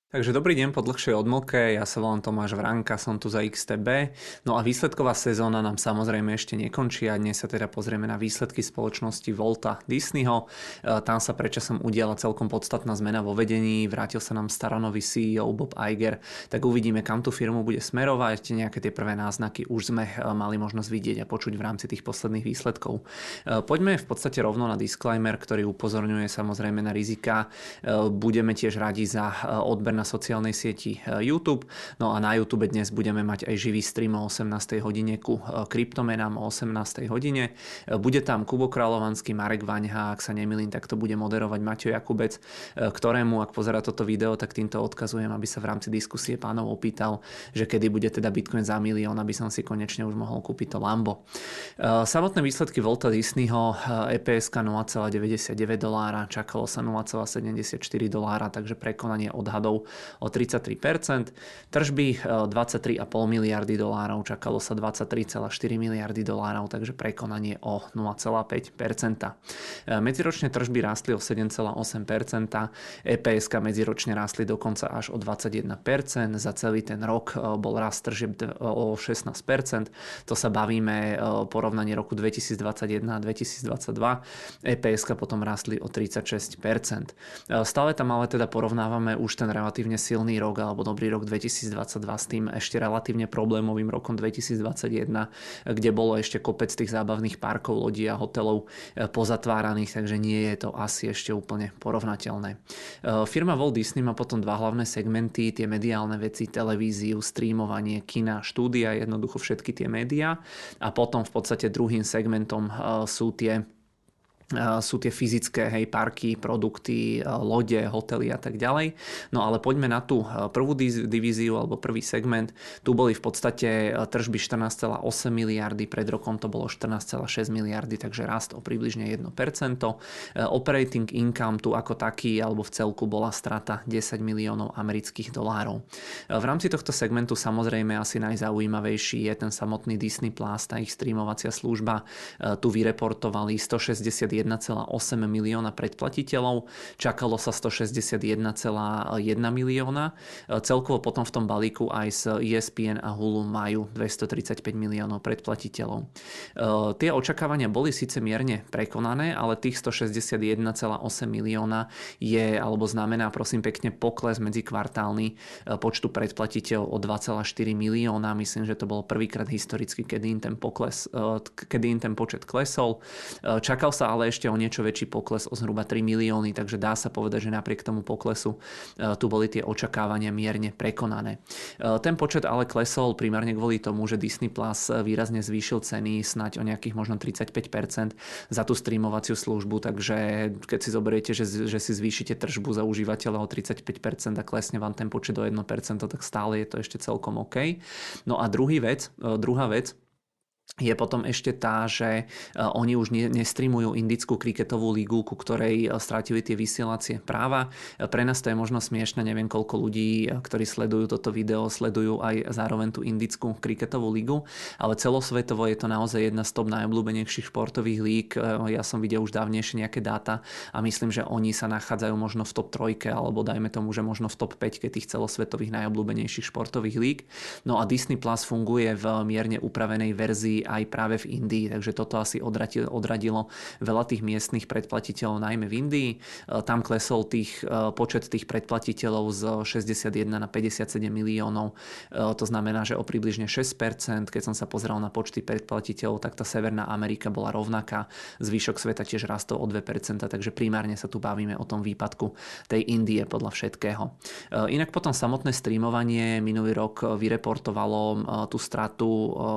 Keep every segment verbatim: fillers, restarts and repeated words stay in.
Takže dobrý deň po dlhšej odmlke, ja sa volám Tomáš Vránka, som tu za iks té bé. No a výsledková sezóna nám samozrejme ešte nekončí a dnes sa teda pozrieme na výsledky spoločnosti Walta Disneyho. E, Tam sa predčasom udiala celkom podstatná zmena vo vedení, vrátil sa nám staronový sí í ó Bob Iger, tak uvidíme, kam tú firmu bude smerovať. Nejaké tie prvé náznaky už sme e, mali možnosť vidieť a počuť v rámci tých posledných výsledkov. E, Poďme v podstate rovno na disclaimer, ktorý upozorňuje samozrejme na rizika. E, Budeme tiež radi za e, odber na sociálnej sieti YouTube. No a na YouTube dnes budeme mať aj živý stream o osemnástej hodine ku kryptomenám o osemnástej hodine. Bude tam Kubo Kráľovanský, Marek Vaňha, ak sa nemýlim, tak to bude moderovať Maťo Jakubec, ktorému, ak pozerá toto video, tak týmto odkazujem, aby sa v rámci diskusie pánov opýtal, že kedy bude teda Bitcoin za milión, aby som si konečne už mohol kúpiť to Lambo. Samotné výsledky Walta Disneyho, é pé es ká nula celá deväťdesiatdeväť dolára, čakalo sa nula celá sedemdesiatštyri dolára, takže prekonanie odhadov o tridsaťtri percent. Tržby dvadsaťtri celá päť miliardy dolárov, čakalo sa dvadsaťtri celá štyri miliardy dolárov, takže prekonanie o nula celá päť percent. Medziročne tržby rástli o sedem celá osem percent, é pé es ká medziročne rástli dokonca až o dvadsaťjeden percent, za celý ten rok bol rast tržieb o šestnásť percent, to sa bavíme porovnanie roku dvetisícdvadsaťjeden a dvetisícdvadsaťdva, é pé es ká potom rástli o tridsaťšesť percent. Stále tam ale teda porovnávame už ten relatívne silný rok alebo dobrý rok dvetisícdvadsaťdva s tým ešte relatívne problémovým rokom dvetisícdvadsaťjeden, kde bolo ešte kopec tých zábavných parkov, lodí a hotelov pozatváraných, takže nie je to asi ešte úplne porovnateľné. Firma Walt Disney má potom dva hlavné segmenty, tie mediálne veci, televíziu, streamovanie, kina, štúdia, jednoducho všetky tie médiá, a potom v podstate druhým segmentom sú tie sú tie fyzické, hej, parky, produkty, lode, hotely a tak ďalej. No ale poďme na tú prvú divíziu alebo prvý segment. Tu boli v podstate tržby štrnásť celá osem miliardy, pred rokom to bolo štrnásť celá šesť miliardy, takže rast o približne jedno percento. Operating income tu ako taký alebo v celku bola strata desať miliónov amerických dolárov. V rámci tohto segmentu samozrejme asi najzaujímavejší je ten samotný Disney Plus, tá ich streamovacia služba. Tu vyreportovali stošesťdesiatjeden celá osem milióna predplatiteľov, čakalo sa stošesťdesiatjeden celá jeden milióna. Celkovo potom v tom balíku aj z é es pé en a Hulu majú dvestotridsaťpäť miliónov predplatiteľov. Tie očakávania boli síce mierne prekonané, ale tých stošesťdesiatjeden celá osem milióna je, alebo znamená prosím pekne pokles medzikvartálny počtu predplatiteľov o dva celá štyri milióna. Myslím, že to bolo prvýkrát historicky, kedy im ten pokles, kedy im ten počet klesol. Čakal sa ale ešte o niečo väčší pokles o zhruba tri milióny, takže dá sa povedať, že napriek tomu poklesu tu boli tie očakávania mierne prekonané. Ten počet ale klesol primárne kvôli tomu, že Disney Plus výrazne zvýšil ceny snáď o nejakých možno tridsaťpäť percent za tú streamovaciu službu, takže keď si zoberiete, že, že si zvýšite tržbu za užívateľa o tridsaťpäť percent a klesne vám ten počet o jedno percento, tak stále je to ešte celkom OK. No a druhý vec, druhá vec, je potom ešte tá, že oni už nestreamujú indickú kriketovú ligu, ku ktorej strátili tie vysielacie práva. Pre nás to je možno smiešne, neviem koľko ľudí, ktorí sledujú toto video, sledujú aj zároveň tú indickú kriketovú ligu, ale celosvetovo je to naozaj jedna z top najobľúbenejších športových líg. Ja som videl už dávnejšie nejaké dáta a myslím, že oni sa nachádzajú možno v top trojke, alebo dajme tomu, že možno v top päť tých celosvetových najobľúbenejších športových líg. No a Disney Plus funguje v mierne upravenej verzii aj práve v Indii, takže toto asi odradilo, odradilo veľa tých miestnych predplatiteľov, najmä v Indii. Tam klesol tých, počet tých predplatiteľov z šesťdesiatjeden na päťdesiatsedem miliónov, to znamená, že o približne šesť percent. Keď som sa pozeral na počty predplatiteľov, tak tá Severná Amerika bola rovnaká, zvyšok sveta tiež rastol o dve percentá, takže primárne sa tu bavíme o tom výpadku tej Indie podľa všetkého. Inak potom samotné streamovanie minulý rok vyreportovalo tú stratu,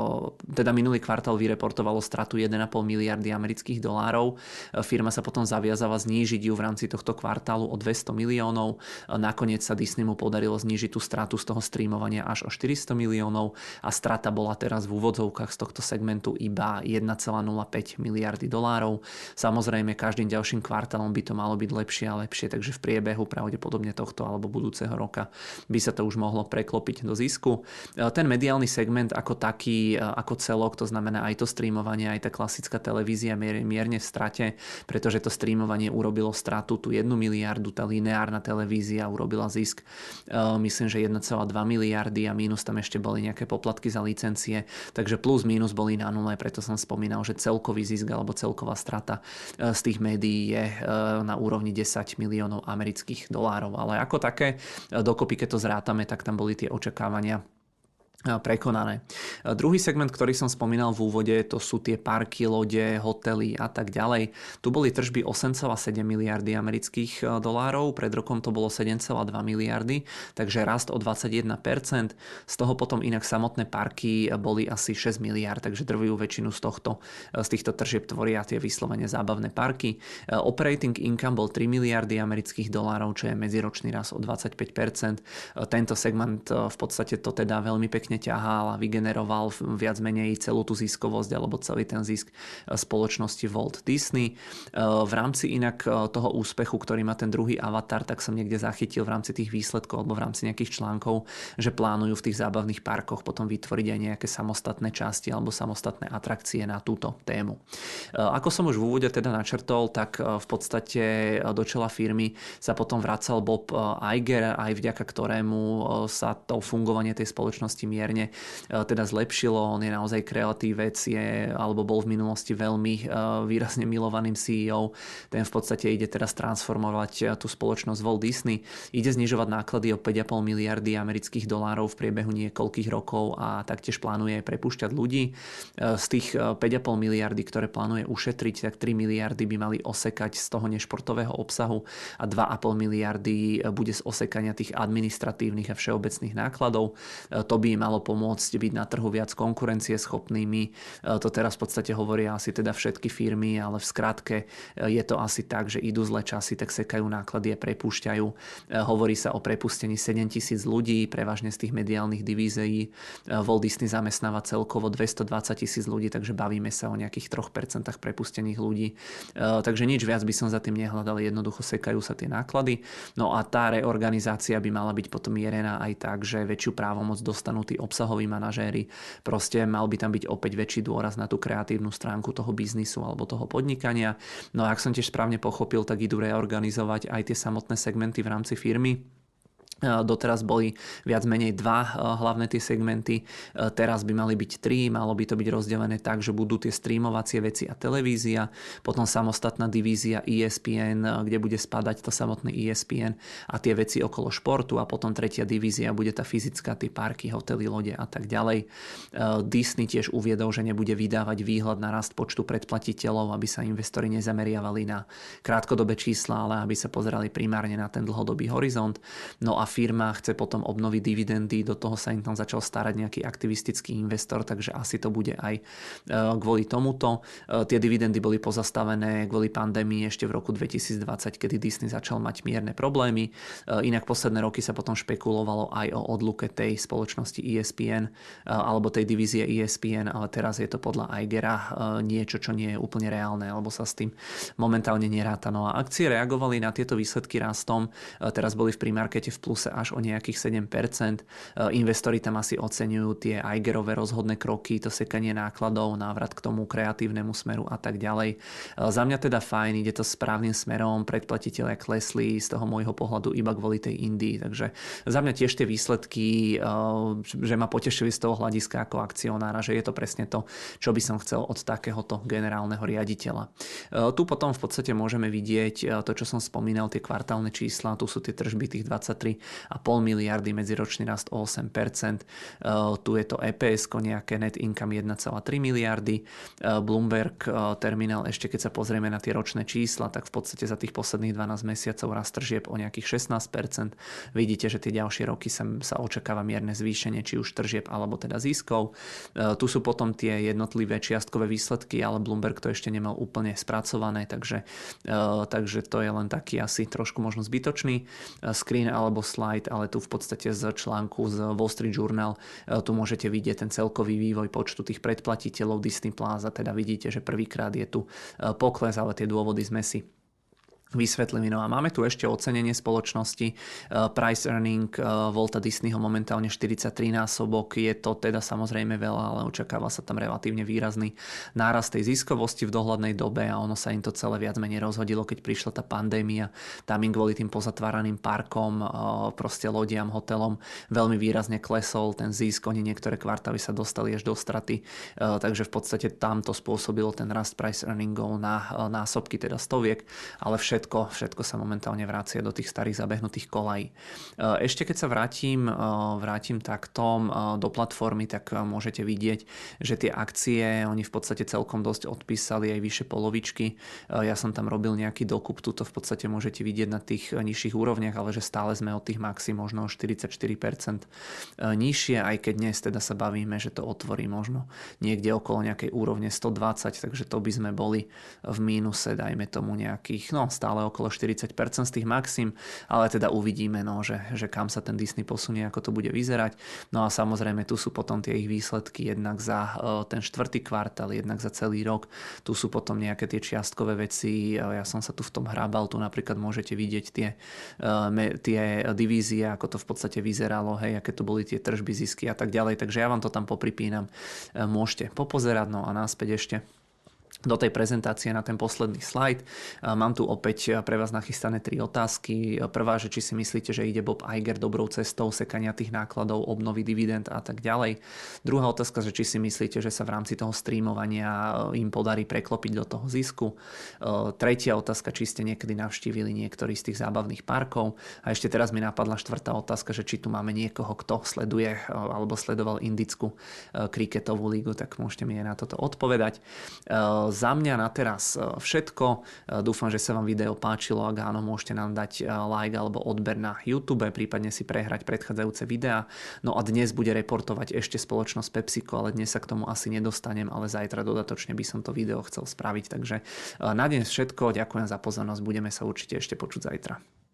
teda minulý kvartál vyreportovalo stratu jeden celá päť miliardy amerických dolárov. Firma sa potom zaviazala znížiť ju v rámci tohto kvartálu o dvesto miliónov. Nakoniec sa Disneymu podarilo znížiť tú stratu z toho streamovania až o štyristo miliónov a strata bola teraz v úvodzovkách z tohto segmentu iba jeden celá nula päť miliardy dolárov. Samozrejme, každým ďalším kvartálom by to malo byť lepšie a lepšie, takže v priebehu pravdepodobne tohto alebo budúceho roka by sa to už mohlo preklopiť do zisku. Ten mediálny segment ako taký, ako celok, to znamená aj to streamovanie, aj tá klasická televízia mierne v strate, pretože to streamovanie urobilo stratu tu jednu miliardu, tá lineárna televízia urobila zisk myslím, že jeden celá dva miliardy a mínus tam ešte boli nejaké poplatky za licencie, takže plus mínus boli na nule, preto som spomínal, že celkový zisk alebo celková strata z tých médií je na úrovni desať miliónov amerických dolárov, ale ako také dokopy, keď to zrátame, tak tam boli tie očakávania prekonané. Druhý segment, ktorý som spomínal v úvode, to sú tie parky, lode, hotely a tak ďalej. Tu boli tržby osem celá sedem miliardy amerických dolárov, pred rokom to bolo sedem celá dva miliardy, takže rast o dvadsaťjeden percent. Z toho potom inak samotné parky boli asi šesť miliárd, takže drvivú väčšinu z, tohto, z týchto tržieb tvoria tie vyslovene zábavné parky. Operating income bol tri miliardy amerických dolárov, čo je medziročný rast o dvadsaťpäť percent. Tento segment v podstate to teda veľmi pekne ťahal a vygeneroval viac menej celú tú ziskovosť alebo celý ten zisk spoločnosti Walt Disney. V rámci inak toho úspechu, ktorý má ten druhý Avatar, tak som niekde zachytil v rámci tých výsledkov alebo v rámci nejakých článkov, že plánujú v tých zábavných parkoch potom vytvoriť aj nejaké samostatné časti alebo samostatné atrakcie na túto tému. Ako som už v úvode teda načrtol, tak v podstate do čela firmy sa potom vracal Bob Iger, aj vďaka ktorému sa to fungovanie tej spoločnosti mierne teda zlepšilo. On je naozaj kreatívec, je, alebo bol v minulosti veľmi výrazne milovaným sí í ó. Ten v podstate ide teraz transformovať tú spoločnosť Walt Disney. Ide znižovať náklady o päť celá päť miliardy amerických dolárov v priebehu niekoľkých rokov a taktiež plánuje prepúšťať ľudí. Z tých päť celá päť miliardy, ktoré plánuje ušetriť, tak tri miliardy by mali osekať z toho nešportového obsahu a dva celá päť miliardy bude z osekania tých administratívnych a všeobecných nákladov. To by im malo pomôcť byť na trhu viac konkurencieschopnými. To teraz v podstate hovoria asi teda všetky firmy, ale v skratke je to asi tak, že idú zlé časy, tak sekajú náklady a prepúšťajú. Hovorí sa o prepustení sedem tisíc ľudí, prevažne z tých mediálnych divízií. Walt Disney zamestnáva celkovo dvestodvadsať tisíc ľudí, takže bavíme sa o nejakých tri percentá prepustených ľudí. Takže nič viac by som za tým nehľadal, jednoducho sekajú sa tie náklady. No a tá reorganizácia by mala byť potom mierená aj tak, že väčšiu právomoc dostanú tí obsahoví manažéri. Proste mal by tam byť opäť väčší dôraz na tú kreatívnu stránku toho biznisu alebo toho podnikania. No a ak som tiež správne pochopil, tak idú reorganizovať aj tie samotné segmenty v rámci firmy. Doteraz boli viac menej dva hlavné tie segmenty, teraz by mali byť tri, malo by to byť rozdelené tak, že budú tie streamovacie veci a televízia, potom samostatná divízia é es pé en, kde bude spadať to samotné é es pé en a tie veci okolo športu, a potom tretia divízia bude tá fyzická, tie parky, hotely, lode a tak ďalej. Disney tiež uviedol, že nebude vydávať výhľad na rast počtu predplatiteľov, aby sa investori nezameriavali na krátkodobé čísla, ale aby sa pozerali primárne na ten dlhodobý horizont. No a firma chce potom obnoviť dividendy, do toho sa im tam začal starať nejaký aktivistický investor, takže asi to bude aj kvôli tomuto. Tie dividendy boli pozastavené kvôli pandémii ešte v roku dvetisícdvadsať, kedy Disney začal mať mierne problémy. Inak posledné roky sa potom špekulovalo aj o odluke tej spoločnosti é es pé en alebo tej divízie é es pé en, ale teraz je to podľa Igera niečo, čo nie je úplne reálne, alebo sa s tým momentálne neráta. No a akcie reagovali na tieto výsledky rastom, teraz boli v premarkete v plus až o nejakých sedem percent. Investori tam asi oceňujú tie Igerové rozhodné kroky, to sekanie nákladov, návrat k tomu kreatívnemu smeru a tak ďalej. Za mňa teda fajn, ide to správnym smerom, predplatitelia klesli z toho môjho pohľadu iba kvôli tej Indii, takže za mňa tiež tie výsledky, že ma potešili z toho hľadiska ako akcionára, že je to presne to, čo by som chcel od takéhoto generálneho riaditeľa. Tu potom v podstate môžeme vidieť to, čo som spomínal, tie kvartálne čísla, tu sú tie tržby tých dvadsaťtri a pol miliardy, medziročný rast o osem percent. Tu je to é pé es, nejaké net income jeden celá tri miliardy. Bloomberg terminál, ešte keď sa pozrieme na tie ročné čísla, tak v podstate za tých posledných dvanásť mesiacov rast tržieb o nejakých šestnásť percent. Vidíte, že tie ďalšie roky sa, sa očakáva mierne zvýšenie, či už tržieb alebo teda ziskov. Tu sú potom tie jednotlivé čiastkové výsledky, ale Bloomberg to ešte nemal úplne spracované, takže, takže to je len taký asi trošku možno zbytočný screen alebo slide, ale tu v podstate z článku z Wall Street Journal tu môžete vidieť ten celkový vývoj počtu tých predplatiteľov Disney Plus a teda vidíte, že prvýkrát je tu pokles, ale tie dôvody sme si Vysvetlím. No a máme tu ešte ocenenie spoločnosti. Price earning Walta Disneyho momentálne štyridsaťtri násobok. Je to teda samozrejme veľa, ale očakáva sa tam relatívne výrazný nárast tej ziskovosti v dohľadnej dobe a ono sa im to celé viac menej rozhodilo, keď prišla tá pandémia. Tam im kvôli tým pozatváraným parkom, proste lodiam, hotelom veľmi výrazne klesol ten zisk. Oni niektoré kvartály sa dostali až do straty. Takže v podstate tam to spôsobilo ten rast price earningov na násobky, teda stoviek, ale všetko Všetko, všetko sa momentálne vracia do tých starých zabehnutých kolají. Ešte keď sa vrátim, vrátim takto do platformy, tak môžete vidieť, že tie akcie, oni v podstate celkom dosť odpísali aj vyššie polovičky. Ja som tam robil nejaký dokup, tuto v podstate môžete vidieť na tých nižších úrovniach, ale že stále sme od tých maxi možno štyridsaťštyri percent nižšie, aj keď dnes teda sa bavíme, že to otvorí možno niekde okolo nejakej úrovne stodvadsať, takže to by sme boli v mínuse, dajme tomu nejakých, no stále okolo štyridsať percent z tých maxim, ale teda uvidíme, no, že, že kam sa ten Disney posunie, ako to bude vyzerať. No a samozrejme tu sú potom tie ich výsledky jednak za uh, ten štvrtý kvartál, jednak za celý rok. Tu sú potom nejaké tie čiastkové veci. Ja som sa tu v tom hrábal, tu napríklad môžete vidieť tie, uh, me, tie divízie, ako to v podstate vyzeralo, hej, aké to boli tie tržby, zisky a tak ďalej. Takže ja vám to tam popripínam. Uh, môžete popozerať, no a náspäť ešte do tej prezentácie na ten posledný slajd. Mám tu opäť pre vás nachystané tri otázky. Prvá, že či si myslíte, že ide Bob Iger dobrou cestou sekania tých nákladov, obnovy dividend a tak ďalej. Druhá otázka, že či si myslíte, že sa v rámci toho streamovania im podarí preklopiť do toho zisku. Tretia otázka, či ste niekedy navštívili niektorý z tých zábavných parkov. A ešte teraz mi napadla štvrtá otázka, že či tu máme niekoho, kto sleduje alebo sledoval indickú kriketovú lígu, tak môžete mi aj na toto odpovedať. Za mňa na teraz všetko. Dúfam, že sa vám video páčilo. Ak áno, môžete nám dať like alebo odber na YouTube, prípadne si prehrať predchádzajúce videá. No a dnes bude reportovať ešte spoločnosť PepsiCo, ale dnes sa k tomu asi nedostanem, ale zajtra dodatočne by som to video chcel spraviť. Takže na dnes všetko. Ďakujem za pozornosť. Budeme sa určite ešte počuť zajtra.